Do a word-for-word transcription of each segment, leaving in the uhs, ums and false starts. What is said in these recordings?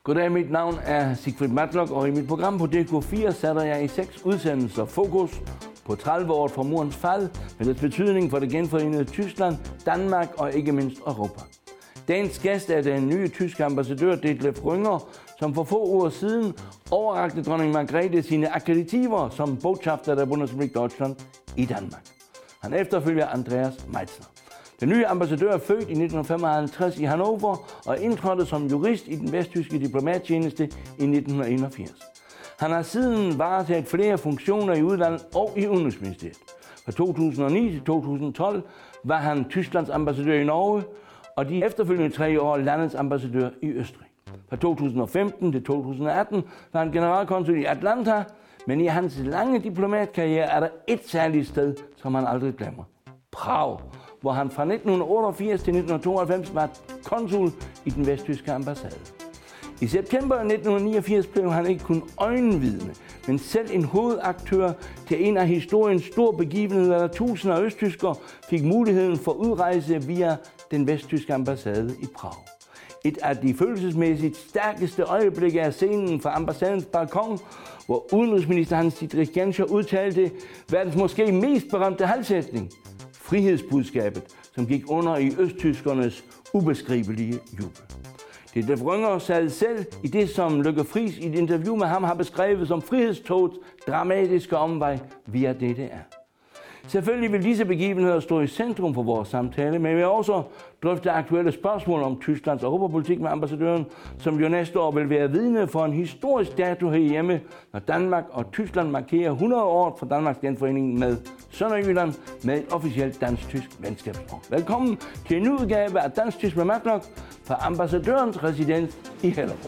Goddag, mit navn er Sigfrid Matlock, og i mit program på D K fire sætter jeg i seks udsendelser fokus på tredive år fra murens fald, med dets betydning for det genforenede Tyskland, Danmark og ikke mindst Europa. Dagens gæst er den nye tyske ambassadør Detlef Rönger, som for få uger siden overrakte dronning Margrethe sine akkreditiver som botschafter der Bundesrepublik Deutschland i Danmark. Han efterfølger Andreas Meitzner. Den nye ambassadør er født i nitten femoghalvtreds i Hannover og indtrådte som jurist i den vesttyske diplomattjeneste i nitten enogfirs. Han har siden varetaget flere funktioner i udlandet og i Udenrigsministeriet. Fra to tusind og ni til to tusind og tolv var han Tysklands ambassadør i Norge, og de efterfølgende tre år landets ambassadør i Østrig. Fra to tusind og femten til to tusind og atten var han generalkonsul i Atlanta, men i hans lange diplomatkarriere er der et særligt sted, som han aldrig glemmer. Prag, hvor han fra nitten otteogfirs til nitten tooghalvfems var konsul i den vesttyske ambassade. I september nitten niogfirs blev han ikke kun øjenvidne, men selv en hovedaktør til en af historiens store begivenheder, da tusinder af østtyskere fik muligheden for udrejse via den vesttyske ambassade i Prag. Et af de følelsesmæssigt stærkeste øjeblikke er scenen fra ambassadens balkon, hvor udenrigsminister Hans-Dietrich Genscher udtalte verdens måske mest berømte halvsætning: frihedsbudskabet, som gik under i østtyskernes ubeskrivelige jubel. Detlef Rönger sad selv i det, som Lykke Friis i et interview med ham har beskrevet som frihedstogets dramatiske omvej via D D R. Selvfølgelig vil disse begivenheder stå i centrum for vores samtale, men vi vil også drøfte aktuelle spørgsmål om Tysklands europapolitik med ambassadøren, som jo næste år vil være vidne for en historisk dato herhjemme, når Danmark og Tyskland markerer hundrede år fra Danmarks genforening med Sønderjylland med et officielt dansk-tysk venskabsår. Velkommen til en ny udgave af Dansk-Tysk med Matlock fra ambassadørens residens i Hellerup.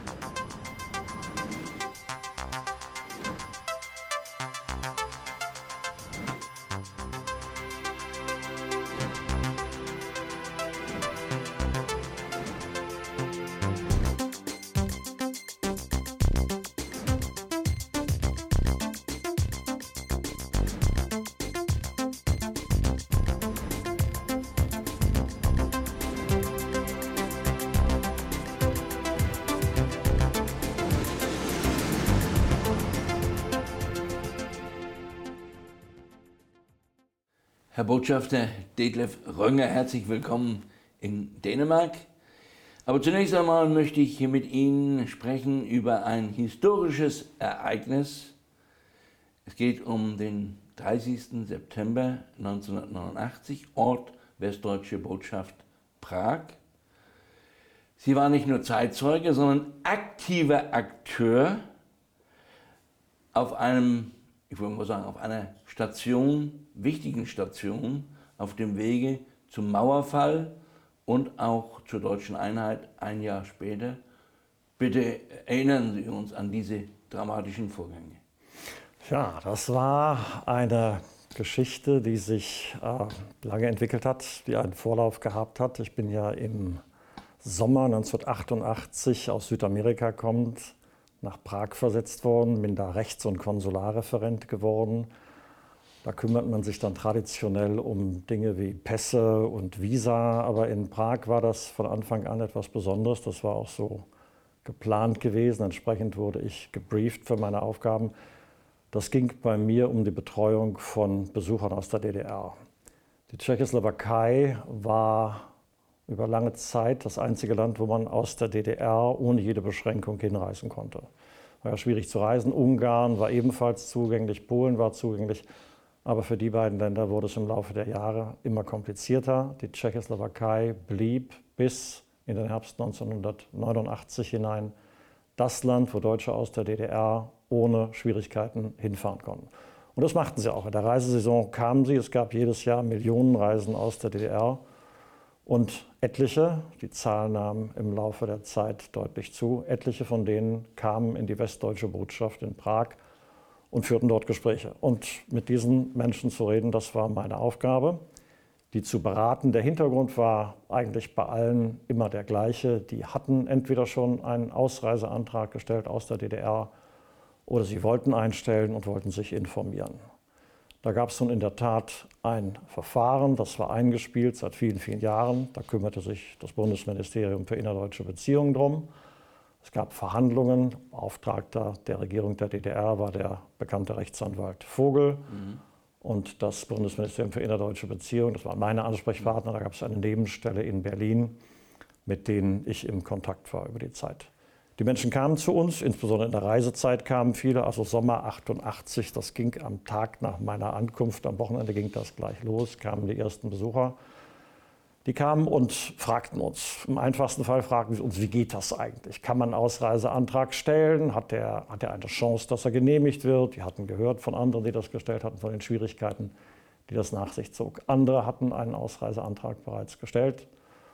Herr Botschafter Detlef Rönger, herzlich willkommen in Dänemark. Aber zunächst einmal möchte ich mit Ihnen sprechen über ein historisches Ereignis. Es geht um den dreißigsten September neunzehnhundertneunundachtzig, Ort Westdeutsche Botschaft Prag. Sie war nicht nur Zeitzeuge, sondern aktiver Akteur auf einem, ich würde mal sagen, auf einer Station, wichtigen Station auf dem Wege zum Mauerfall und auch zur deutschen Einheit ein Jahr später. Bitte erinnern Sie uns an diese dramatischen Vorgänge. Ja, das war eine Geschichte, die sich äh, lange entwickelt hat, die einen Vorlauf gehabt hat. Ich bin ja im Sommer neunzehnhundertachtundachtzig aus Südamerika kommend nach Prag versetzt worden, bin da Rechts- und Konsularreferent geworden. Da kümmert man sich dann traditionell um Dinge wie Pässe und Visa, aber in Prag war das von Anfang an etwas Besonderes. Das war auch so geplant gewesen. Entsprechend wurde ich gebrieft für meine Aufgaben. Das ging bei mir um die Betreuung von Besuchern aus der D D R. Die Tschechoslowakei war über lange Zeit das einzige Land, wo man aus der D D R ohne jede Beschränkung hinreisen konnte. War ja schwierig zu reisen. Ungarn war ebenfalls zugänglich, Polen war zugänglich. Aber für die beiden Länder wurde es im Laufe der Jahre immer komplizierter. Die Tschechoslowakei blieb bis in den Herbst neunzehnhundertneunundachtzig hinein das Land, wo Deutsche aus der D D R ohne Schwierigkeiten hinfahren konnten. Und das machten sie auch. In der Reisesaison kamen sie. Es gab jedes Jahr Millionen Reisen aus der D D R. Und etliche, die Zahl nahm im Laufe der Zeit deutlich zu, etliche von denen kamen in die Westdeutsche Botschaft in Prag und führten dort Gespräche. Und mit diesen Menschen zu reden, das war meine Aufgabe, die zu beraten. Der Hintergrund war eigentlich bei allen immer der gleiche. Die hatten entweder schon einen Ausreiseantrag gestellt aus der D D R oder sie wollten einstellen und wollten sich informieren. Da gab es nun in der Tat ein Verfahren, das war eingespielt seit vielen, vielen Jahren. Da kümmerte sich das Bundesministerium für innerdeutsche Beziehungen drum. Es gab Verhandlungen. Beauftragter der Regierung der D D R war der bekannte Rechtsanwalt Vogel. Mhm. Und das Bundesministerium für innerdeutsche Beziehungen, das waren meine Ansprechpartner. Da gab es eine Nebenstelle in Berlin, mit denen ich im Kontakt war über die Zeit. Die Menschen kamen zu uns, insbesondere in der Reisezeit kamen viele, also Sommer achtundachtzig, das ging am Tag nach meiner Ankunft, am Wochenende ging das gleich los, kamen die ersten Besucher. Die kamen und fragten uns, im einfachsten Fall fragten sie uns, wie geht das eigentlich? Kann man einen Ausreiseantrag stellen? Hat der, hat der eine Chance, dass er genehmigt wird? Die hatten gehört von anderen, die das gestellt hatten, von den Schwierigkeiten, die das nach sich zog. Andere hatten einen Ausreiseantrag bereits gestellt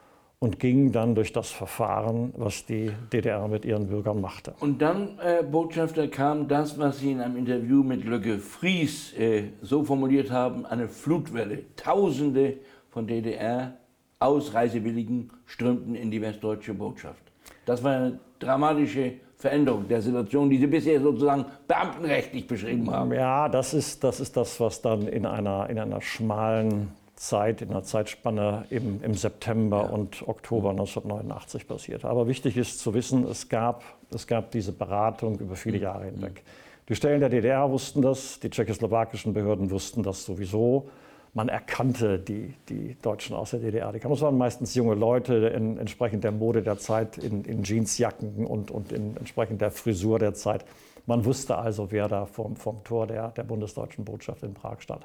und gingen dann durch das Verfahren, was die D D R mit ihren Bürgern machte. Und dann, äh, Botschafter, kam das, was Sie in einem Interview mit Löcke Fries äh, so formuliert haben, eine Flutwelle. Tausende von D D R Ausreisewilligen strömten in die westdeutsche Botschaft. Das war eine dramatische Veränderung der Situation, die Sie bisher sozusagen beamtenrechtlich beschrieben haben. Ja, das ist das, ist das was dann in einer, in einer schmalen Zeit, in einer Zeitspanne im, im September ja. und Oktober neunzehnhundertneunundachtzig passiert. Aber wichtig ist zu wissen, es gab, es gab diese Beratung über viele Jahre hinweg. Die Stellen der D D R wussten das, die tschechoslowakischen Behörden wussten das sowieso. Man erkannte die, die Deutschen aus der D D R. Die kamen, das waren meistens junge Leute, in, entsprechend der Mode der Zeit, in, in Jeansjacken und, und in, entsprechend der Frisur der Zeit. Man wusste also, wer da vom, vom Tor der, der bundesdeutschen Botschaft in Prag stand.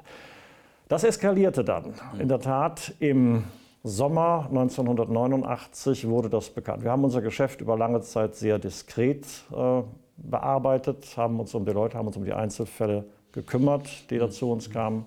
Das eskalierte dann. In der Tat, im Sommer neunzehnhundertneunundachtzig wurde das bekannt. Wir haben unser Geschäft über lange Zeit sehr diskret äh, bearbeitet, haben uns um die Leute, haben uns um die Einzelfälle gekümmert, die da zu uns kamen.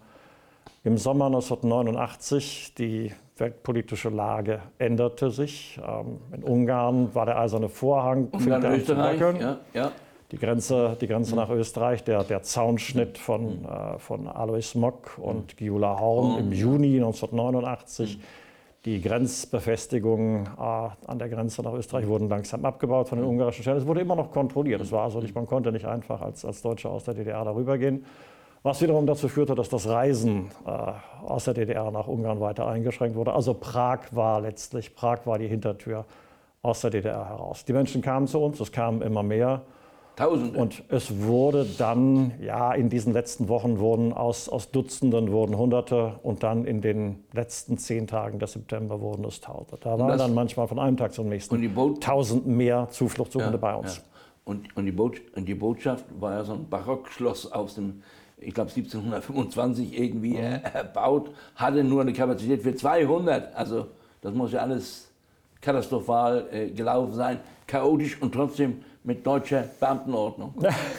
Im Sommer neunzehnhundertneunundachtzig, die weltpolitische Lage änderte sich. Ähm, in Ungarn war der eiserne Vorhang, Ungarn, Österreich, ja, ja. Die Grenze, die Grenze mhm. nach Österreich, der, der Zaunschnitt von, mhm. äh, von Alois Mock und mhm. Gyula Horn mhm. im Juni neunzehnhundertneunundachtzig. Mhm. Die Grenzbefestigungen äh, an der Grenze nach Österreich wurden langsam abgebaut von den ungarischen Stellen. Es wurde immer noch kontrolliert. Es war also nicht, man konnte nicht einfach als, als Deutscher aus der D D R darüber gehen. Was wiederum dazu führte, dass das Reisen äh, aus der D D R nach Ungarn weiter eingeschränkt wurde. Also Prag war letztlich, Prag war die Hintertür aus der D D R heraus. Die Menschen kamen zu uns, es kamen immer mehr. Tausende. Und es wurde dann, ja, in diesen letzten Wochen wurden aus, aus Dutzenden wurden Hunderte und dann in den letzten zehn Tagen des September wurden es Tausende. Da waren dann manchmal von einem Tag zum nächsten tausend mehr Zufluchtssuchende ja, bei uns. Ja. Und, und, die Botschaft, und die Botschaft war ja so ein Barockschloss aus dem, ich glaube siebzehnhundertfünfundzwanzig irgendwie mhm. erbaut, hatte nur eine Kapazität für zweihundert. Also das muss ja alles katastrophal äh, gelaufen sein, chaotisch und trotzdem mit deutscher Beamtenordnung.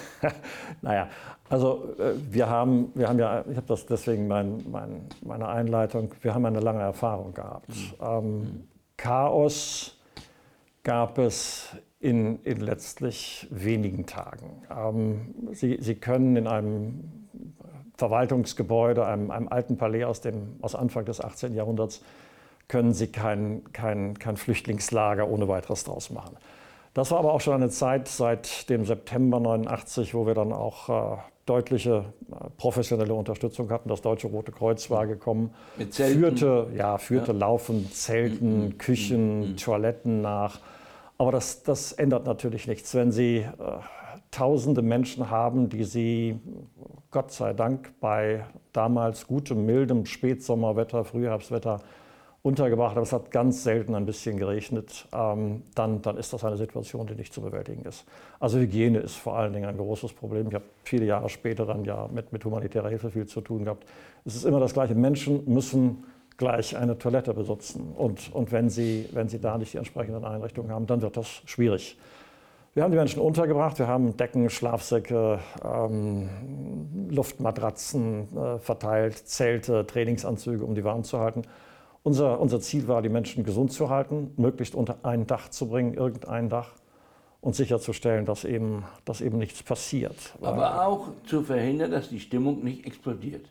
Naja, also äh, wir haben, wir haben ja, ich habe das deswegen mein, mein, meine Einleitung, wir haben eine lange Erfahrung gehabt. Mhm. Ähm, Chaos gab es in, in letztlich wenigen Tagen. Ähm, Sie, Sie können in einem Verwaltungsgebäude, einem, einem alten Palais aus, dem, aus Anfang des achtzehnten Jahrhunderts, können Sie kein, kein, kein Flüchtlingslager ohne weiteres draus machen. Das war aber auch schon eine Zeit seit dem September neunundachtzig, wo wir dann auch äh, deutliche äh, professionelle Unterstützung hatten. Das Deutsche Rote Kreuz war gekommen, mit Zelten. führte, ja, führte ja. laufend Zelten, mhm. Küchen, mhm. Toiletten nach. Aber das, das ändert natürlich nichts, wenn Sie äh, tausende Menschen haben, die Sie, Gott sei Dank, bei damals gutem, mildem Spätsommerwetter, Frühherbstwetter untergebracht, aber es hat ganz selten ein bisschen geregnet, ähm, dann, dann ist das eine Situation, die nicht zu bewältigen ist. Also Hygiene ist vor allen Dingen ein großes Problem. Ich habe viele Jahre später dann ja mit, mit humanitärer Hilfe viel zu tun gehabt. Es ist immer das Gleiche. Menschen müssen gleich eine Toilette besitzen. Und, und wenn, sie, wenn sie da nicht die entsprechenden Einrichtungen haben, dann wird das schwierig. Wir haben die Menschen untergebracht, wir haben Decken, Schlafsäcke, ähm, Luftmatratzen äh, verteilt, Zelte, Trainingsanzüge, um die warm zu halten. Unser, unser Ziel war, die Menschen gesund zu halten, möglichst unter ein Dach zu bringen, irgendein Dach, und sicherzustellen, dass eben, dass eben nichts passiert. Aber auch zu verhindern, dass die Stimmung nicht explodiert.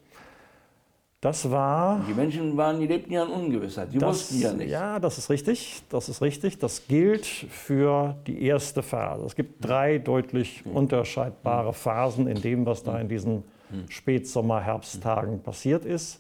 Das war... Die Menschen waren, die lebten ja in Ungewissheit, die das, wussten ja nicht. Ja, das ist richtig, das ist richtig. Das gilt für die erste Phase. Es gibt drei deutlich mhm. unterscheidbare Phasen in dem, was da in diesen Spätsommer-, Herbsttagen passiert ist.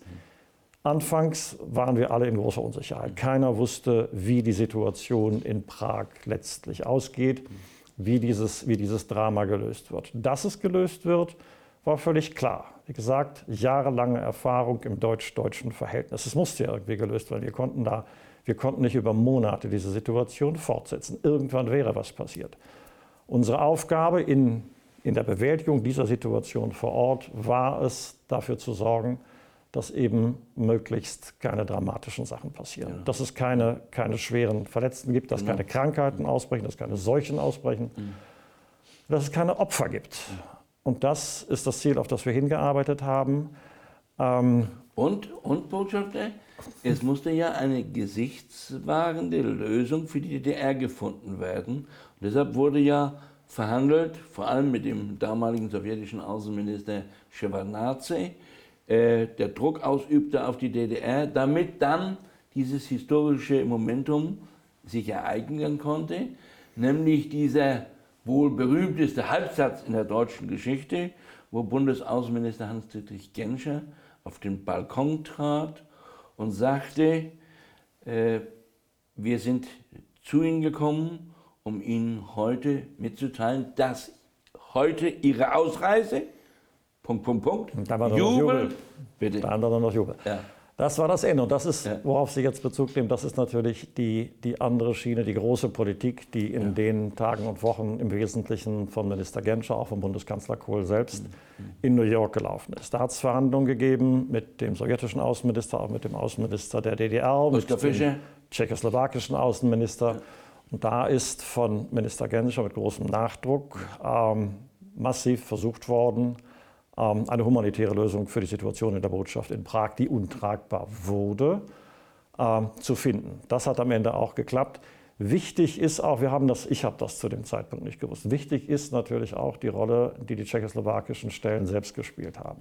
Anfangs waren wir alle in großer Unsicherheit. Keiner wusste, wie die Situation in Prag letztlich ausgeht. wie dieses, wie dieses Drama gelöst wird. Dass es gelöst wird, war völlig klar. Wie gesagt, jahrelange Erfahrung im deutsch-deutschen Verhältnis. Es musste ja irgendwie gelöst werden. Wir konnten, da, wir konnten nicht über Monate diese Situation fortsetzen. Irgendwann wäre was passiert. Unsere Aufgabe in, in der Bewältigung dieser Situation vor Ort war es, dafür zu sorgen, dass eben möglichst keine dramatischen Sachen passieren. Ja. Dass es keine, keine schweren Verletzten gibt, dass ja. keine Krankheiten ausbrechen, dass keine Seuchen ausbrechen, ja. dass es keine Opfer gibt. Ja. Und das ist das Ziel, auf das wir hingearbeitet haben. Ähm und, und, Botschafter, es musste ja eine gesichtswahrende Lösung für die D D R gefunden werden. Und deshalb wurde ja verhandelt, vor allem mit dem damaligen sowjetischen Außenminister Schewardnadse, äh, der Druck ausübte auf die D D R, damit dann dieses historische Momentum sich ereignen konnte, nämlich dieser wohl berühmteste Halbsatz in der deutschen Geschichte, wo Bundesaußenminister Hans-Dietrich Genscher auf den Balkon trat und sagte, äh, wir sind zu Ihnen gekommen, um Ihnen heute mitzuteilen, dass heute Ihre Ausreise, Punkt, Punkt, Punkt, da war Jubel, Jubel. Bitte. Da war noch Jubel. Ja. Das war das Ende. Und das ist, ja. worauf Sie jetzt Bezug nehmen, das ist natürlich die, die andere Schiene, die große Politik, die in ja. den Tagen und Wochen im Wesentlichen von Minister Genscher, auch von Bundeskanzler Kohl selbst, mhm. in New York gelaufen ist. Da hat es Verhandlungen gegeben mit dem sowjetischen Außenminister, auch mit dem Außenminister der D D R, mit dem tschechoslowakischen Außenminister. Ja. Und da ist von Minister Genscher mit großem Nachdruck ähm, massiv versucht worden, eine humanitäre Lösung für die Situation in der Botschaft in Prag, die untragbar wurde, äh, zu finden. Das hat am Ende auch geklappt. Wichtig ist auch, wir haben das, ich habe das zu dem Zeitpunkt nicht gewusst, wichtig ist natürlich auch die Rolle, die die tschechoslowakischen Stellen selbst gespielt haben.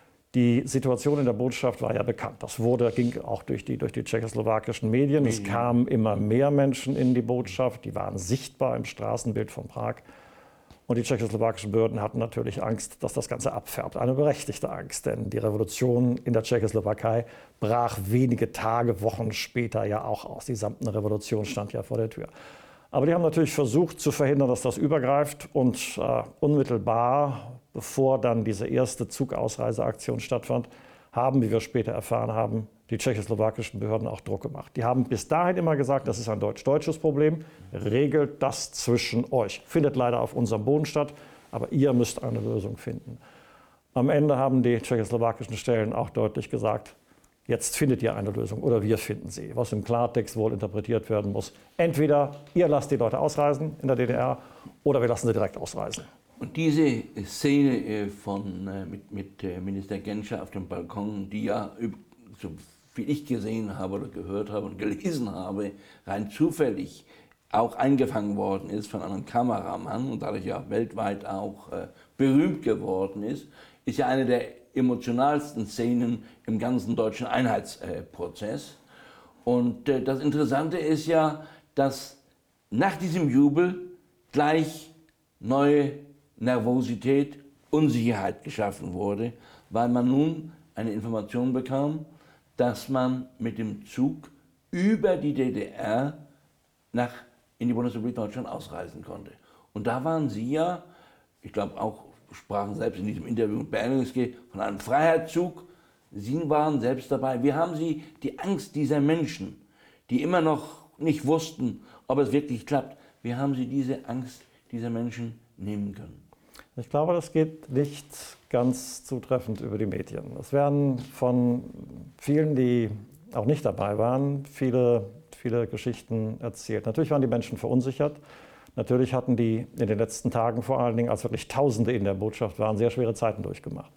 Die Situation in der Botschaft war ja bekannt. Das wurde, ging auch durch die, durch die tschechoslowakischen Medien. Es kamen immer mehr Menschen in die Botschaft, die waren sichtbar im Straßenbild von Prag. Und die tschechoslowakischen Behörden hatten natürlich Angst, dass das Ganze abfärbt. Eine berechtigte Angst, denn die Revolution in der Tschechoslowakei brach wenige Tage, Wochen später ja auch aus. Die Samtene Revolution stand ja vor der Tür. Aber die haben natürlich versucht zu verhindern, dass das übergreift. Und äh, unmittelbar, bevor dann diese erste Zugausreiseaktion stattfand, haben, wie wir später erfahren haben, die tschechoslowakischen Behörden auch Druck gemacht. Die haben bis dahin immer gesagt, das ist ein deutsch-deutsches Problem, regelt das zwischen euch. Findet leider auf unserem Boden statt, aber ihr müsst eine Lösung finden. Am Ende haben die tschechoslowakischen Stellen auch deutlich gesagt, jetzt findet ihr eine Lösung oder wir finden sie, was im Klartext wohl interpretiert werden muss. Entweder ihr lasst die Leute ausreisen in der D D R oder wir lassen sie direkt ausreisen. Und diese Szene von, mit, mit Minister Genscher auf dem Balkon, die ja, so viel ich gesehen habe oder gehört habe und gelesen habe, rein zufällig auch eingefangen worden ist von einem Kameramann und dadurch ja weltweit auch äh, berühmt geworden ist, ist ja eine der emotionalsten Szenen im ganzen deutschen Einheitsprozess. Äh, und äh, das Interessante ist ja, dass nach diesem Jubel gleich neue Nervosität, Unsicherheit geschaffen wurde, weil man nun eine Information bekam, dass man mit dem Zug über die D D R nach, in die Bundesrepublik Deutschland ausreisen konnte. Und da waren Sie ja, ich glaube auch, sprachen selbst in diesem Interview mit Berlingske von einem Freiheitszug. Sie waren selbst dabei. Wie haben Sie die Angst dieser Menschen, die immer noch nicht wussten, ob es wirklich klappt, wie haben Sie diese Angst dieser Menschen nehmen können? Ich glaube, das geht nicht ganz zutreffend über die Medien. Es werden von vielen, die auch nicht dabei waren, viele, viele Geschichten erzählt. Natürlich waren die Menschen verunsichert. Natürlich hatten die in den letzten Tagen, vor allen Dingen, als wirklich Tausende in der Botschaft waren, sehr schwere Zeiten durchgemacht.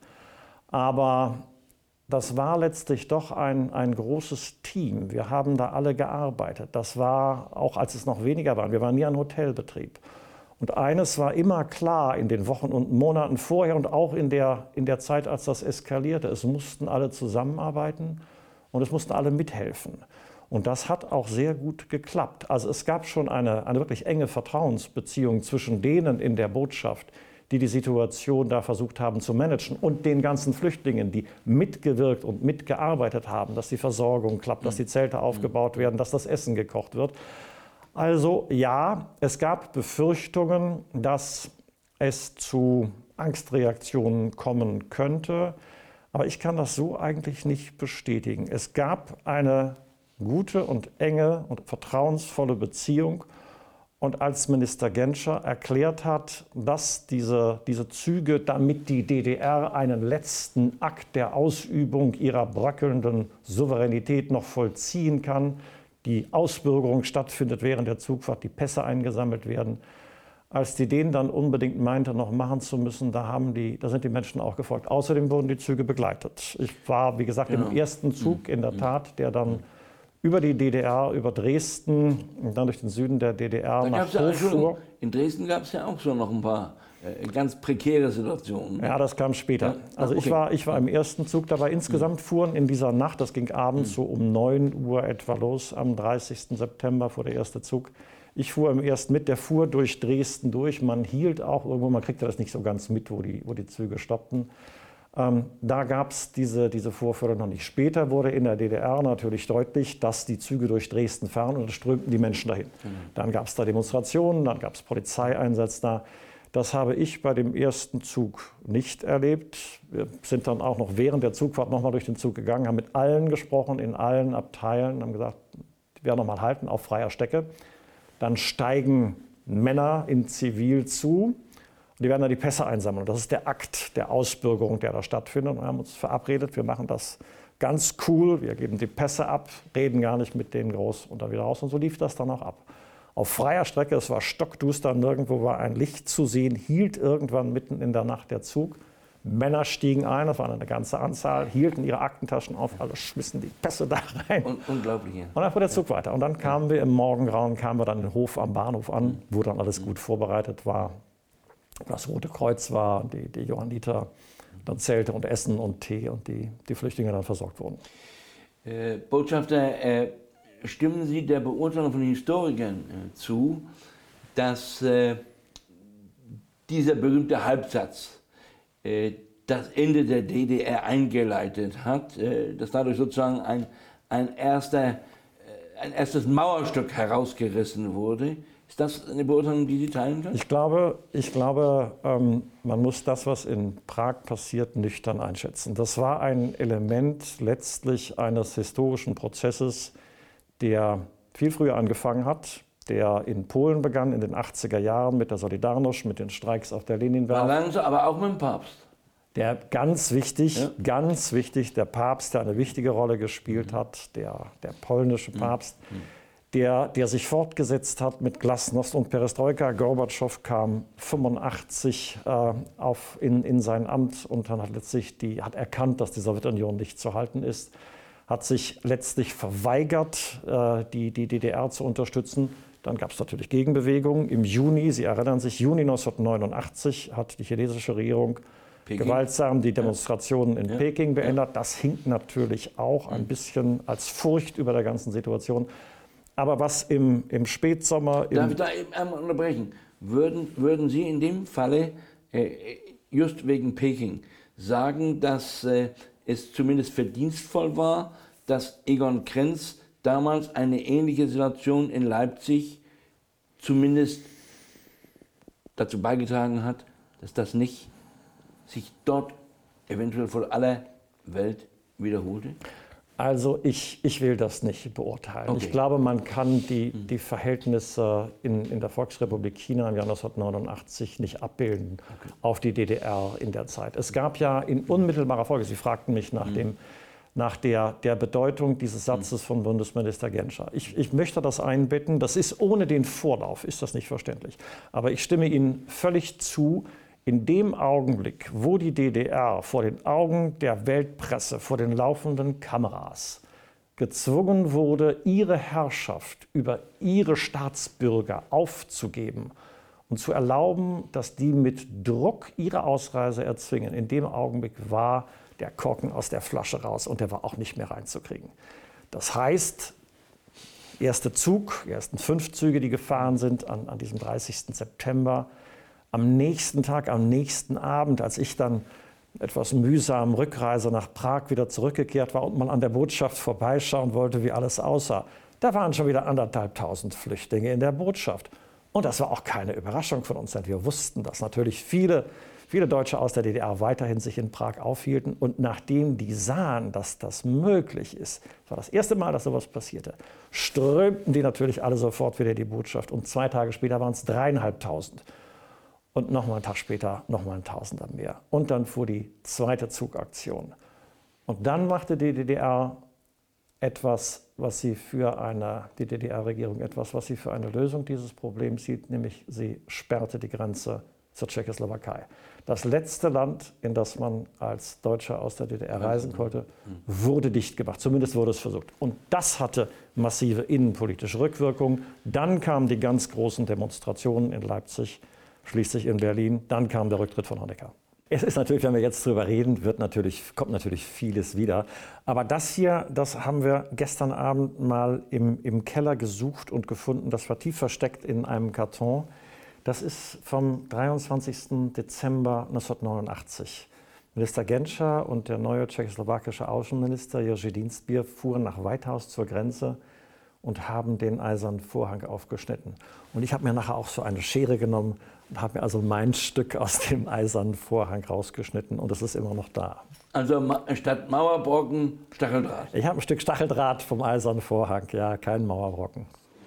Aber das war letztlich doch ein, ein großes Team. Wir haben da alle gearbeitet. Das war, auch als es noch weniger waren, wir waren nie ein Hotelbetrieb. Und eines war immer klar in den Wochen und Monaten vorher und auch in der, in der Zeit, als das eskalierte. Es mussten alle zusammenarbeiten und es mussten alle mithelfen. Und das hat auch sehr gut geklappt. Also es gab schon eine, eine wirklich enge Vertrauensbeziehung zwischen denen in der Botschaft, die die Situation da versucht haben zu managen, und den ganzen Flüchtlingen, die mitgewirkt und mitgearbeitet haben, dass die Versorgung klappt, dass die Zelte aufgebaut werden, dass das Essen gekocht wird. Also ja, es gab Befürchtungen, dass es zu Angstreaktionen kommen könnte, aber ich kann das so eigentlich nicht bestätigen. Es gab eine gute und enge und vertrauensvolle Beziehung. Und als Minister Genscher erklärt hat, dass diese, diese Züge, damit die D D R einen letzten Akt der Ausübung ihrer bröckelnden Souveränität noch vollziehen kann, die Ausbürgerung stattfindet während der Zugfahrt, die Pässe eingesammelt werden, als die den dann unbedingt meinte, noch machen zu müssen, da, haben die, da sind die Menschen auch gefolgt. Außerdem wurden die Züge begleitet. Ich war, wie gesagt, genau. im ersten Zug in der Tat, der dann über die D D R, über Dresden und dann durch den Süden der D D R da nach ja, Hof fuhr. In Dresden gab es ja auch schon noch ein paar äh, ganz prekäre Situationen. Ja, das kam später. Ja? Also okay. ich war, ich war im ersten Zug dabei. Insgesamt mhm. fuhren in dieser Nacht, das ging abends mhm. so um neun Uhr etwa los, am dreißigsten September fuhr der erste Zug. Ich fuhr im ersten mit, der fuhr durch Dresden durch. Man hielt auch irgendwo, man kriegte das nicht so ganz mit, wo die, wo die Züge stoppten. Ähm, da gab es diese, diese Vorfälle noch nicht. Später wurde in der D D R natürlich deutlich, dass die Züge durch Dresden fahren und es strömten die Menschen dahin. Mhm. Dann gab es da Demonstrationen, dann gab es Polizeieinsätze da. Das habe ich bei dem ersten Zug nicht erlebt. Wir sind dann auch noch während der Zugfahrt noch mal durch den Zug gegangen, haben mit allen gesprochen, in allen Abteilen, haben gesagt, die werden noch mal halten auf freier Strecke. Dann steigen Männer in Zivil zu. Die werden dann die Pässe einsammeln. Das ist der Akt der Ausbürgerung, der da stattfindet. Und wir haben uns verabredet, wir machen das ganz cool. Wir geben die Pässe ab, reden gar nicht mit denen groß und dann wieder raus. Und so lief das dann auch ab. Auf freier Strecke, es war stockduster, nirgendwo war ein Licht zu sehen, hielt irgendwann mitten in der Nacht der Zug. Männer stiegen ein, das waren eine ganze Anzahl, hielten ihre Aktentaschen auf, alle schmissen die Pässe da rein. Un unglaublich. Ja. Und dann fuhr der Zug weiter. Und dann kamen wir im Morgengrauen, kamen wir dann in den Hof am Bahnhof an, wo dann alles gut vorbereitet war. Das Rote Kreuz war, die, die Johanniter, dann Zelte und Essen und Tee und die, die Flüchtlinge dann versorgt wurden. Äh, Botschafter, äh, stimmen Sie der Beurteilung von Historikern äh, zu, dass äh, dieser berühmte Halbsatz äh, das Ende der D D R eingeleitet hat, äh, dass dadurch sozusagen ein, ein, erster, äh, ein erstes Mauerstück herausgerissen wurde? Ist das eine Beurteilung, die Sie teilen können? Ich glaube, ich glaube ähm, man muss das, was in Prag passiert, nüchtern einschätzen. Das war ein Element letztlich eines historischen Prozesses, der viel früher angefangen hat, der in Polen begann in den achtziger Jahren mit der Solidarność, mit den Streiks auf der Leninwerft. War langsam, aber auch mit dem Papst. Der ganz wichtig, ja. ganz wichtig, der Papst, der eine wichtige Rolle gespielt mhm. hat, der, der polnische Papst. Mhm. Der, der sich fortgesetzt hat mit Glasnost und Perestroika. Gorbatschow kam fünfundachtzig äh, auf in, in sein Amt und dann hat letztlich die, hat erkannt, dass die Sowjetunion nicht zu halten ist, hat sich letztlich verweigert, äh, die, die D D R zu unterstützen. Dann gab es natürlich Gegenbewegungen. Im Juni, Sie erinnern sich, Juni neunzehnhundertneunundachtzig hat die chinesische Regierung Peking. gewaltsam die Demonstrationen ja. in ja. Peking beendet. Ja. Das hinkt natürlich auch ein bisschen als Furcht über der ganzen Situation. Aber was im, im Spätsommer... Im Darf ich da eben einmal unterbrechen? Würden, würden Sie in dem Falle, äh, just wegen Peking, sagen, dass äh, es zumindest verdienstvoll war, dass Egon Krenz damals eine ähnliche Situation in Leipzig zumindest dazu beigetragen hat, dass das nicht sich dort eventuell vor aller Welt wiederholte? Also ich, ich will das nicht beurteilen. Okay. Ich glaube, man kann die, die Verhältnisse in, in der Volksrepublik China im Jahr neunzehnhundertneunundachtzig nicht abbilden okay. auf die D D R in der Zeit. Es gab ja in unmittelbarer Folge, Sie fragten mich nach, mhm. dem, nach der, der Bedeutung dieses Satzes von Bundesminister Genscher. Ich, ich möchte das einbetten, das ist ohne den Vorlauf, ist das nicht verständlich. Aber ich stimme Ihnen völlig zu. In dem Augenblick, wo die D D R vor den Augen der Weltpresse, vor den laufenden Kameras gezwungen wurde, ihre Herrschaft über ihre Staatsbürger aufzugeben und zu erlauben, dass die mit Druck ihre Ausreise erzwingen, in dem Augenblick war der Korken aus der Flasche raus und der war auch nicht mehr reinzukriegen. Das heißt, erster Zug, die ersten fünf Züge, die gefahren sind an, an diesem dreißigsten September, am nächsten Tag, am nächsten Abend, als ich dann etwas mühsam Rückreise nach Prag wieder zurückgekehrt war und mal an der Botschaft vorbeischauen wollte, wie alles aussah, Da waren schon wieder anderthalbtausend Flüchtlinge in der Botschaft. Und das war auch keine Überraschung von uns, denn wir wussten, dass natürlich viele, viele Deutsche aus der D D R weiterhin sich in Prag aufhielten. Und nachdem die sahen, dass das möglich ist, das war das erste Mal, dass sowas passierte, strömten die natürlich alle sofort wieder in die Botschaft. Und zwei Tage später waren es dreieinhalbtausend. Und nochmal einen Tag später nochmal ein Tausender mehr. Und dann fuhr die zweite Zugaktion. Und dann machte die D D R etwas, was sie für eine, die D D R-Regierung etwas, was sie für eine Lösung dieses Problems sieht, nämlich sie sperrte die Grenze zur Tschechoslowakei. Das letzte Land, in das man als Deutscher aus der D D R reisen konnte, wurde dicht gemacht. Zumindest wurde es versucht. Und das hatte massive innenpolitische Rückwirkungen. Dann kamen die ganz großen Demonstrationen in Leipzig, schließlich in Berlin. Dann kam der Rücktritt von Honecker. Es ist natürlich, wenn wir jetzt drüber reden, wird natürlich, kommt natürlich vieles wieder. Aber das hier, das haben wir gestern Abend mal im, im Keller gesucht und gefunden. Das war tief versteckt in einem Karton. Das ist vom dreiundzwanzigsten Dezember neunzehnhundertneunundachtzig. Minister Genscher und der neue tschechoslowakische Außenminister Jerzy Dienstbier fuhren nach Weithaus zur Grenze und haben den eisernen Vorhang aufgeschnitten. Und ich habe mir nachher auch so eine Schere genommen und habe mir also mein Stück aus dem eisernen Vorhang rausgeschnitten und es ist immer noch da. Also statt Mauerbrocken Stacheldraht? Ich habe ein Stück Stacheldraht vom eisernen Vorhang, ja, kein Mauerbrocken.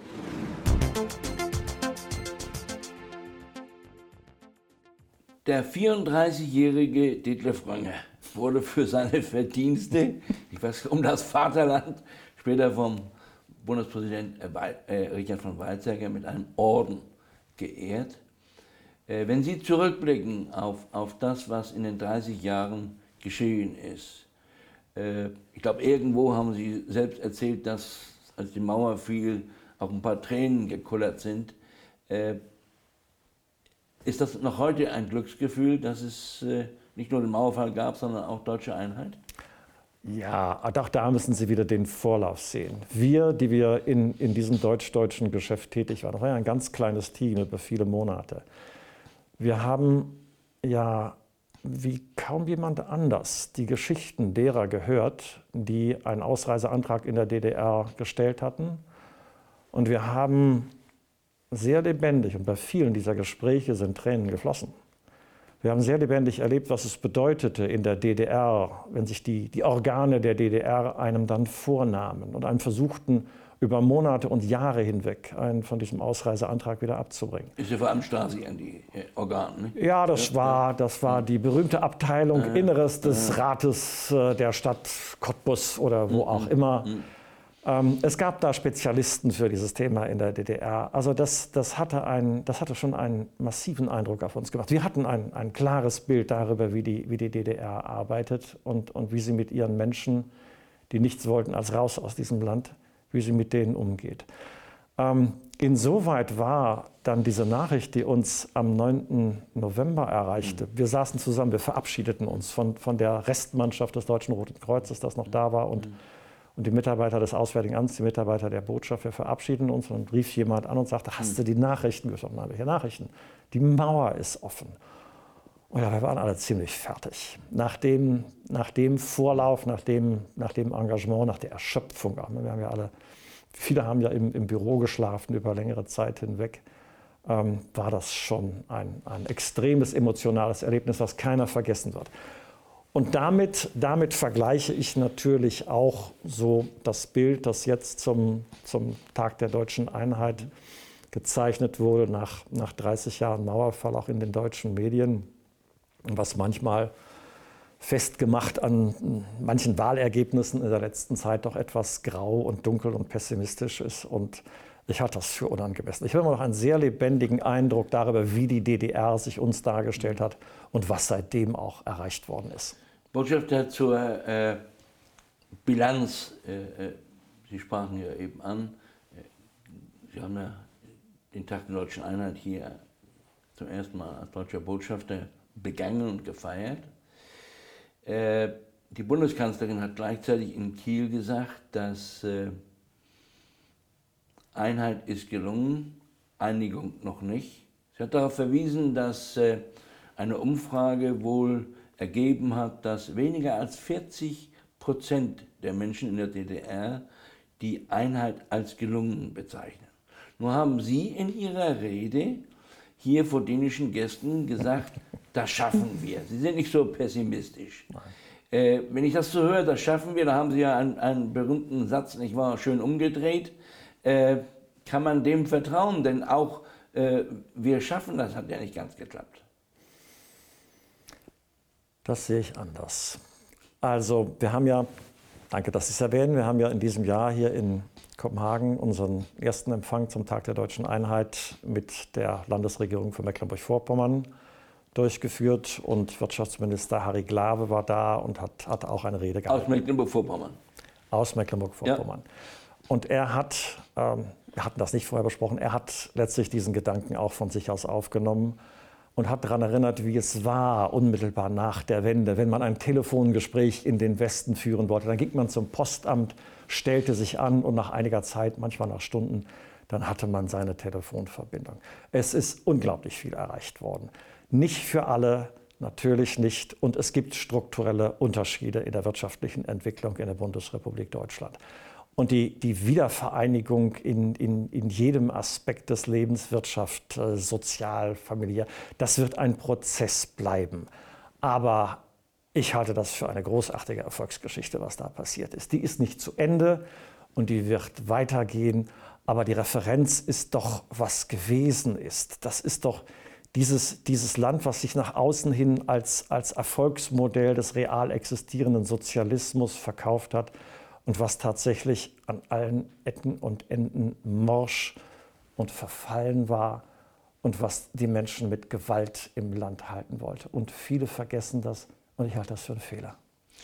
Der vierunddreißigjährige Detlev Rönger wurde für seine Verdienste, ich weiß, um das Vaterland, später vom Bundespräsident Richard von Weizsäcker mit einem Orden geehrt. Wenn Sie zurückblicken auf, auf das, was in den dreißig Jahren geschehen ist, ich glaube, irgendwo haben Sie selbst erzählt, dass, als die Mauer fiel, auch ein paar Tränen gekullert sind. Ist das noch heute ein Glücksgefühl, dass es nicht nur den Mauerfall gab, sondern auch deutsche Einheit? Ja, auch da müssen Sie wieder den Vorlauf sehen. Wir, die wir in, in diesem deutsch-deutschen Geschäft tätig waren, das war ja ein ganz kleines Team über viele Monate. Wir haben ja wie kaum jemand anders die Geschichten derer gehört, die einen Ausreiseantrag in der D D R gestellt hatten. Und wir haben sehr lebendig, und bei vielen dieser Gespräche sind Tränen geflossen. Wir haben sehr lebendig erlebt, was es bedeutete in der D D R, wenn sich die, die Organe der D D R einem dann vornahmen und einem versuchten, über Monate und Jahre hinweg einen von diesem Ausreiseantrag wieder abzubringen. Ist ja vor allem Stasi an die äh, Organe, ne? Ja, das, ja, war, das war die berühmte Abteilung äh, Inneres des äh, Rates äh, der Stadt Cottbus oder wo äh, auch immer. Äh, Ähm, es gab da Spezialisten für dieses Thema in der D D R. Also das, das, hatte, ein, das hatte schon einen massiven Eindruck auf uns gemacht. Wir hatten ein, ein klares Bild darüber, wie die, wie die D D R arbeitet und, und wie sie mit ihren Menschen, die nichts wollten als raus aus diesem Land, wie sie mit denen umgeht. Ähm, insoweit war dann diese Nachricht, die uns am neunten November erreichte. Wir saßen zusammen, wir verabschiedeten uns von, von der Restmannschaft des Deutschen Roten Kreuzes, das noch da war, und Und die Mitarbeiter des Auswärtigen Amts, die Mitarbeiter der Botschaft, wir verabschieden uns. Und dann rief jemand an und sagte, hast du die Nachrichten gehört? Nein, welche Nachrichten? Die Mauer ist offen. Und ja, wir waren alle ziemlich fertig. Nach dem, nach dem Vorlauf, nach dem, nach dem Engagement, nach der Erschöpfung. Wir haben ja alle, viele haben ja im, im Büro geschlafen über längere Zeit hinweg. Ähm, war das schon ein, ein extremes emotionales Erlebnis, was keiner vergessen wird. Und damit, damit vergleiche ich natürlich auch so das Bild, das jetzt zum, zum Tag der deutschen Einheit gezeichnet wurde, nach, nach dreißig Jahren Mauerfall, auch in den deutschen Medien, was manchmal festgemacht an manchen Wahlergebnissen in der letzten Zeit doch etwas grau und dunkel und pessimistisch ist. Und ich halte das für unangemessen. Ich habe immer noch einen sehr lebendigen Eindruck darüber, wie die D D R sich uns dargestellt hat und was seitdem auch erreicht worden ist. Botschafter zur äh, Bilanz, äh, Sie sprachen ja eben an, Sie haben ja den Tag der deutschen Einheit hier zum ersten Mal als deutscher Botschafter begangen und gefeiert. Äh, die Bundeskanzlerin hat gleichzeitig in Kiel gesagt, dass äh, Einheit ist gelungen, Einigung noch nicht. Sie hat darauf verwiesen, dass äh, eine Umfrage wohl ergeben hat, dass weniger als vierzig Prozent der Menschen in der D D R die Einheit als gelungen bezeichnen. Nur haben Sie in Ihrer Rede hier vor dänischen Gästen gesagt, das schaffen wir. Sie sind nicht so pessimistisch. Äh, wenn ich das so höre, das schaffen wir, da haben Sie ja einen, einen berühmten Satz, nicht wahr, schön umgedreht. Äh, kann man dem vertrauen? Denn auch äh, wir schaffen das, hat ja nicht ganz geklappt. Das sehe ich anders. Also wir haben ja, danke, dass Sie es erwähnen, wir haben ja in diesem Jahr hier in Kopenhagen unseren ersten Empfang zum Tag der Deutschen Einheit mit der Landesregierung von Mecklenburg-Vorpommern durchgeführt und Wirtschaftsminister Harry Glawe war da und hat, hat auch eine Rede gehalten. Aus Mecklenburg-Vorpommern. Aus Mecklenburg-Vorpommern. Ja. Und er hat, ähm, wir hatten das nicht vorher besprochen, er hat letztlich diesen Gedanken auch von sich aus aufgenommen und hat daran erinnert, wie es war, unmittelbar nach der Wende, wenn man ein Telefongespräch in den Westen führen wollte. Dann ging man zum Postamt, stellte sich an und nach einiger Zeit, manchmal nach Stunden, dann hatte man seine Telefonverbindung. Es ist unglaublich viel erreicht worden. Nicht für alle, natürlich nicht. Und es gibt strukturelle Unterschiede in der wirtschaftlichen Entwicklung in der Bundesrepublik Deutschland. Und die, die Wiedervereinigung in, in, in jedem Aspekt des Lebens, Wirtschaft, äh, sozial, familiär, das wird ein Prozess bleiben. Aber ich halte das für eine großartige Erfolgsgeschichte, was da passiert ist. Die ist nicht zu Ende und die wird weitergehen. Aber die Referenz ist doch, was gewesen ist. Das ist doch dieses, dieses Land, was sich nach außen hin als, als Erfolgsmodell des real existierenden Sozialismus verkauft hat. Und was tatsächlich an allen Ecken und Enden morsch und verfallen war und was die Menschen mit Gewalt im Land halten wollte. Und viele vergessen das und ich halte das für einen Fehler.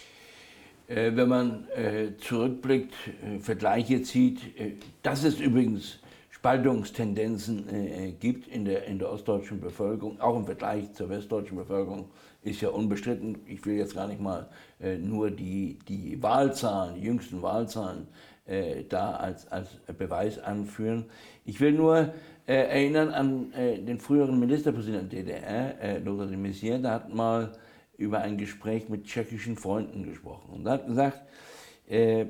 Äh, wenn man äh, zurückblickt, äh, Vergleiche zieht, äh, dass es übrigens Spaltungstendenzen äh, gibt in der, in der ostdeutschen Bevölkerung, auch im Vergleich zur westdeutschen Bevölkerung, ist ja unbestritten. Ich will jetzt gar nicht mal äh, nur die, die Wahlzahlen, die jüngsten Wahlzahlen äh, da als, als Beweis anführen. Ich will nur äh, erinnern an äh, den früheren Ministerpräsidenten der D D R, äh, Lothar de Maizière, der hat mal über ein Gespräch mit tschechischen Freunden gesprochen und er hat gesagt, äh,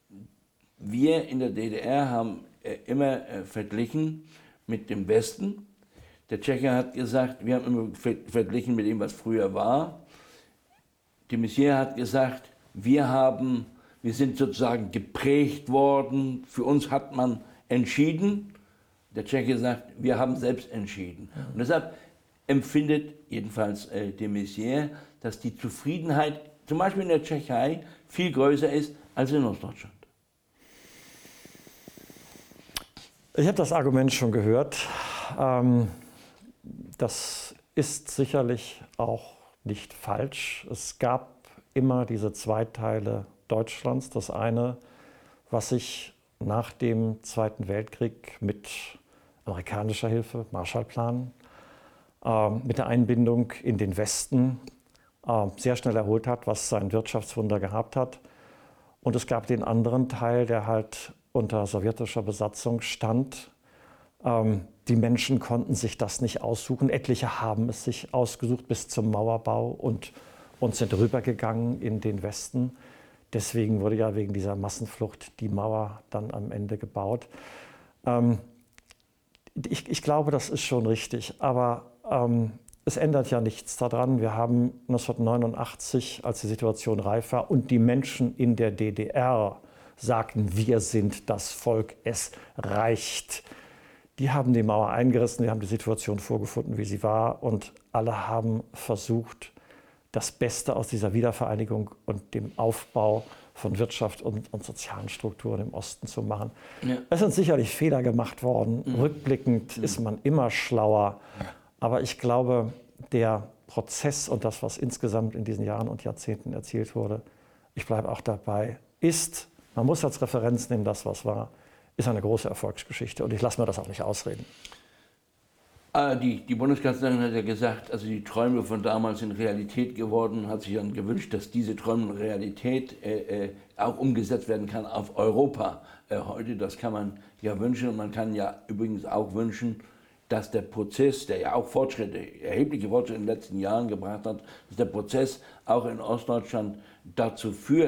wir in der D D R haben äh, immer äh, verglichen mit dem Westen. Der Tscheche hat gesagt, wir haben immer verglichen mit dem, was früher war. De Maizière hat gesagt, wir, haben, wir sind sozusagen geprägt worden, für uns hat man entschieden. Der Tscheche sagt, wir haben selbst entschieden. Und deshalb empfindet jedenfalls äh, de Maizière, dass die Zufriedenheit zum Beispiel in der Tschechei viel größer ist als in Ostdeutschland. Ich habe das Argument schon gehört. Ähm Das ist sicherlich auch nicht falsch. Es gab immer diese zwei Teile Deutschlands. Das eine, was sich nach dem Zweiten Weltkrieg mit amerikanischer Hilfe, Marshallplan, äh, mit der Einbindung in den Westen äh, sehr schnell erholt hat, was sein Wirtschaftswunder gehabt hat. Und es gab den anderen Teil, der halt unter sowjetischer Besatzung stand. Ähm, Die Menschen konnten sich das nicht aussuchen. Etliche haben es sich ausgesucht bis zum Mauerbau und, und sind rübergegangen in den Westen. Deswegen wurde ja wegen dieser Massenflucht die Mauer dann am Ende gebaut. Ähm, ich, ich glaube, das ist schon richtig, aber ähm, es ändert ja nichts daran. Wir haben neunzehnhundertneunundachtzig, als die Situation reif war und die Menschen in der D D R sagten, wir sind das Volk, es reicht. Die haben die Mauer eingerissen, die haben die Situation vorgefunden, wie sie war und alle haben versucht, das Beste aus dieser Wiedervereinigung und dem Aufbau von Wirtschaft und, und sozialen Strukturen im Osten zu machen. Ja. Es sind sicherlich Fehler gemacht worden. Mhm. Rückblickend mhm. ist man immer schlauer. Ja. Aber ich glaube, der Prozess und das, was insgesamt in diesen Jahren und Jahrzehnten erzielt wurde, ich bleibe auch dabei, ist, man muss als Referenz nehmen, das, was war, ist eine große Erfolgsgeschichte und ich lasse mir das auch nicht ausreden. Die, die Bundeskanzlerin hat ja gesagt, also die Träume von damals sind Realität geworden und hat sich dann gewünscht, dass diese Träume und Realität äh, äh, auch umgesetzt werden kann auf Europa äh, heute. Das kann man ja wünschen und man kann ja übrigens auch wünschen, dass der Prozess, der ja auch Fortschritte, erhebliche Fortschritte in den letzten Jahren gebracht hat, dass der Prozess auch in Ostdeutschland dazu führt,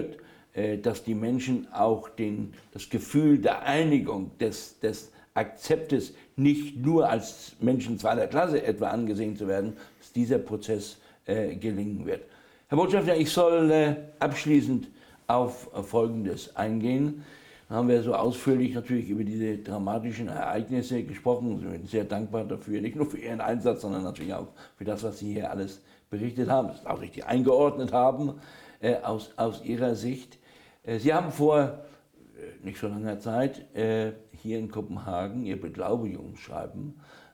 dass die Menschen auch den, das Gefühl der Einigung, des, des Akzeptes, nicht nur als Menschen zweiter Klasse etwa angesehen zu werden, dass dieser Prozess äh, gelingen wird. Herr Botschafter, ich soll äh, abschließend auf äh, Folgendes eingehen. Da haben wir so ausführlich natürlich über diese dramatischen Ereignisse gesprochen. Ich bin sehr dankbar dafür, nicht nur für Ihren Einsatz, sondern natürlich auch für das, was Sie hier alles berichtet haben, das auch richtig eingeordnet haben äh, aus, aus Ihrer Sicht. Äh, Sie haben vor äh, nicht so langer Zeit äh, hier in Kopenhagen Ihr Beglaubigungsschreiben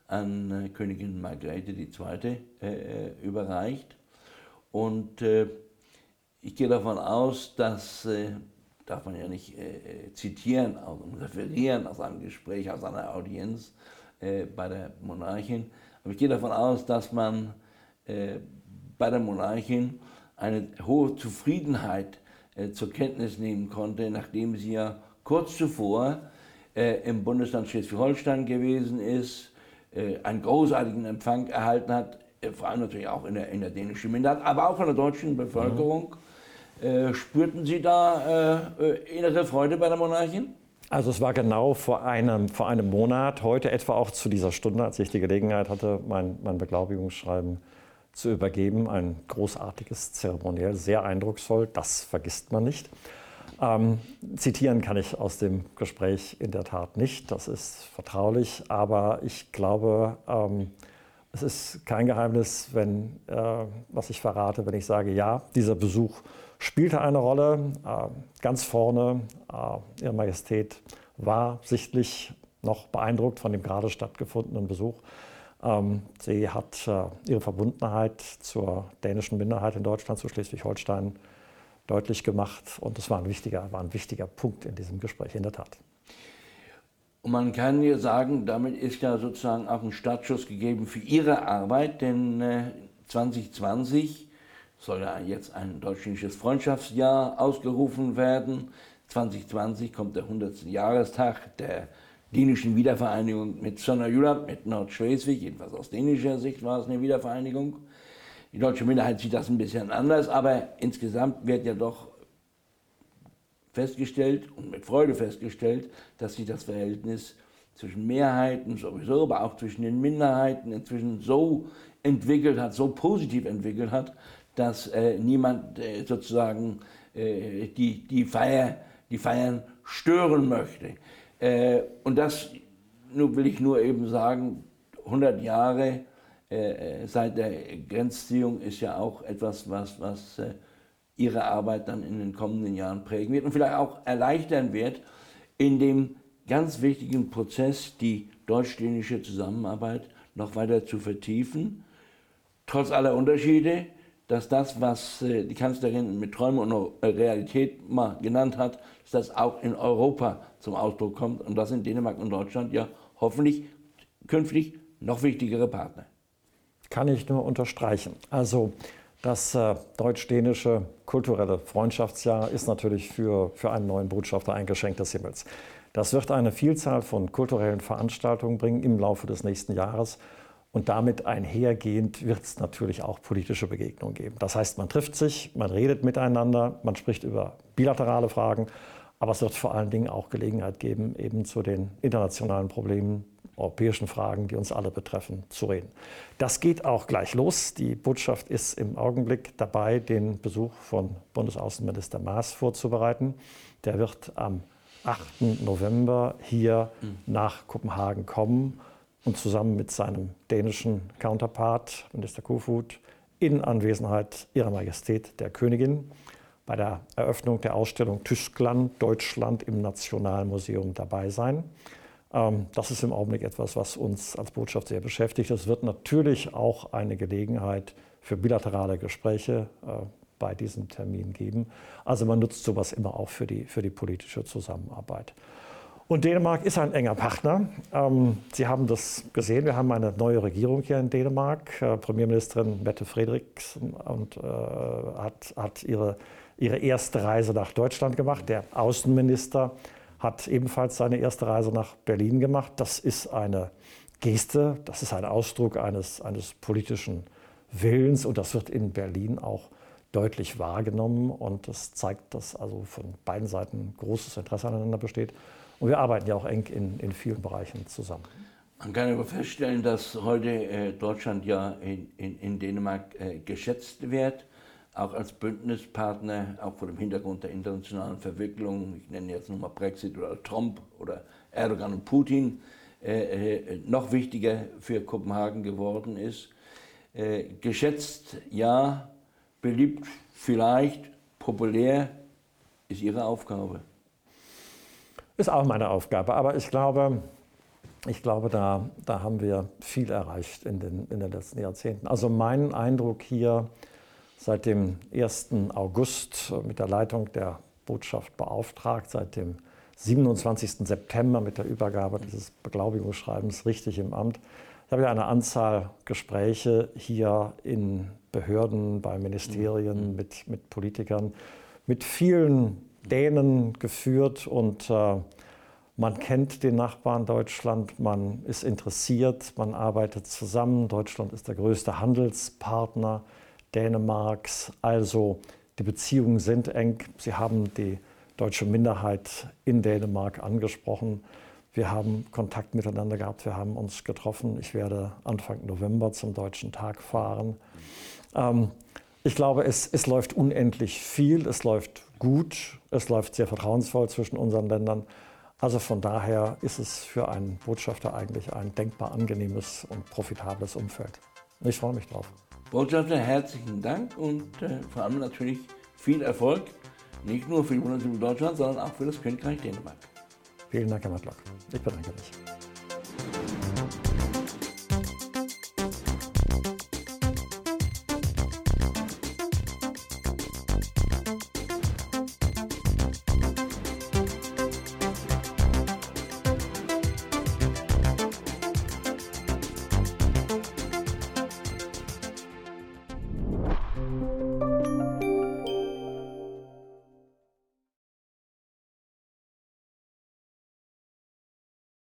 an äh, Königin Margrethe die Zweite äh, überreicht. Und äh, ich gehe davon aus, dass, äh, darf man ja nicht äh, zitieren, also referieren aus einem Gespräch, aus einer Audienz äh, bei der Monarchin, aber ich gehe davon aus, dass man äh, bei der Monarchin eine hohe Zufriedenheit äh, zur Kenntnis nehmen konnte, nachdem sie ja kurz zuvor äh, im Bundesland Schleswig-Holstein gewesen ist, äh, einen großartigen Empfang erhalten hat, äh, vor allem natürlich auch in der, in der dänischen Minderheit, aber auch von der deutschen Bevölkerung. Mhm. Äh, spürten Sie da äh, innere Freude bei der Monarchin? Also es war genau vor einem, vor einem Monat, heute etwa auch zu dieser Stunde, als ich die Gelegenheit hatte, mein, mein Beglaubigungsschreiben zu übergeben. Ein großartiges Zeremoniell, sehr eindrucksvoll, das vergisst man nicht. Ähm, zitieren kann ich aus dem Gespräch in der Tat nicht, das ist vertraulich, aber ich glaube, ähm, es ist kein Geheimnis, wenn, äh, was ich verrate, wenn ich sage, ja, dieser Besuch spielte eine Rolle. Äh, ganz vorne, äh, Ihre Majestät war sichtlich noch beeindruckt von dem gerade stattgefundenen Besuch. Ähm, sie hat äh, ihre Verbundenheit zur dänischen Minderheit in Deutschland, zu Schleswig-Holstein, deutlich gemacht. Und das war ein wichtiger, war ein wichtiger Punkt in diesem Gespräch, in der Tat. Und man kann ja sagen, damit ist ja sozusagen auch ein Startschuss gegeben für Ihre Arbeit, denn äh, zwanzig zwanzig soll ja jetzt ein deutsch-dänisches Freundschaftsjahr ausgerufen werden. zwanzig zwanzig kommt der hundertste Jahrestag der dänischen Wiedervereinigung mit Sønderjylland, mit Nordschleswig. Jedenfalls aus dänischer Sicht war es eine Wiedervereinigung. Die deutsche Minderheit sieht das ein bisschen anders, aber insgesamt wird ja doch festgestellt und mit Freude festgestellt, dass sich das Verhältnis zwischen Mehrheiten sowieso, aber auch zwischen den Minderheiten inzwischen so entwickelt hat, so positiv entwickelt hat, dass äh, niemand äh, sozusagen äh, die, die, Feier, die Feiern stören möchte. Äh, und das nur, will ich nur eben sagen, hundert Jahre äh, seit der Grenzziehung ist ja auch etwas, was, was äh, Ihre Arbeit dann in den kommenden Jahren prägen wird und vielleicht auch erleichtern wird, in dem ganz wichtigen Prozess die deutsch-dänische Zusammenarbeit noch weiter zu vertiefen, trotz aller Unterschiede, dass das, was die Kanzlerin mit Träume und Realität mal genannt hat, dass das auch in Europa zum Ausdruck kommt und das in Dänemark und Deutschland ja hoffentlich künftig noch wichtigere Partner. Kann ich nur unterstreichen. Also das äh, deutsch-dänische kulturelle Freundschaftsjahr ist natürlich für, für einen neuen Botschafter ein Geschenk des Himmels. Das wird eine Vielzahl von kulturellen Veranstaltungen bringen im Laufe des nächsten Jahres. Und damit einhergehend wird es natürlich auch politische Begegnungen geben. Das heißt, man trifft sich, man redet miteinander, man spricht über bilaterale Fragen, aber es wird vor allen Dingen auch Gelegenheit geben, eben zu den internationalen Problemen, europäischen Fragen, die uns alle betreffen, zu reden. Das geht auch gleich los. Die Botschaft ist im Augenblick dabei, den Besuch von Bundesaußenminister Maas vorzubereiten. Der wird am achten November hier mhm. nach Kopenhagen kommen und zusammen mit seinem dänischen Counterpart, Minister Kofod, in Anwesenheit Ihrer Majestät der Königin bei der Eröffnung der Ausstellung Tyskland, Deutschland im Nationalmuseum dabei sein. Das ist im Augenblick etwas, was uns als Botschaft sehr beschäftigt. Es wird natürlich auch eine Gelegenheit für bilaterale Gespräche bei diesem Termin geben. Also man nutzt sowas immer auch für die, für die politische Zusammenarbeit. Und Dänemark ist ein enger Partner. Ähm, Sie haben das gesehen, wir haben eine neue Regierung hier in Dänemark. Äh, Premierministerin Mette Frederiksen und, äh, hat, hat ihre, ihre erste Reise nach Deutschland gemacht. Der Außenminister hat ebenfalls seine erste Reise nach Berlin gemacht. Das ist eine Geste, das ist ein Ausdruck eines, eines politischen Willens und das wird in Berlin auch deutlich wahrgenommen. Und das zeigt, dass also von beiden Seiten großes Interesse aneinander besteht. Und wir arbeiten ja auch eng in, in vielen Bereichen zusammen. Man kann aber feststellen, dass heute äh, Deutschland ja in, in, in Dänemark äh, geschätzt wird, auch als Bündnispartner, auch vor dem Hintergrund der internationalen Verwicklung. Ich nenne jetzt nur mal Brexit oder Trump oder Erdogan und Putin, äh, äh, noch wichtiger für Kopenhagen geworden ist. Äh, geschätzt, ja, beliebt, vielleicht, populär, ist Ihre Aufgabe. Ist auch meine Aufgabe, aber ich glaube, ich glaube da, da haben wir viel erreicht in den, in den letzten Jahrzehnten. Also mein Eindruck hier seit dem ersten August mit der Leitung der Botschaft beauftragt, seit dem siebenundzwanzigsten September mit der Übergabe dieses Beglaubigungsschreibens richtig im Amt. Ich habe ja eine Anzahl Gespräche hier in Behörden, bei Ministerien, mit, mit Politikern, mit vielen Dänen geführt und äh, man kennt den Nachbarn Deutschland, man ist interessiert, man arbeitet zusammen. Deutschland ist der größte Handelspartner Dänemarks, also die Beziehungen sind eng. Sie haben die deutsche Minderheit in Dänemark angesprochen. Wir haben Kontakt miteinander gehabt, wir haben uns getroffen. Ich werde Anfang November zum Deutschen Tag fahren. Ähm, ich glaube, es, es läuft unendlich viel, es läuft gut, es läuft sehr vertrauensvoll zwischen unseren Ländern. Also von daher ist es für einen Botschafter eigentlich ein denkbar angenehmes und profitables Umfeld. Ich freue mich drauf. Botschafter, herzlichen Dank und äh, vor allem natürlich viel Erfolg, nicht nur für die Bundesrepublik Deutschland, sondern auch für das Königreich Dänemark. Vielen Dank, Herr Matlock. Ich bedanke mich.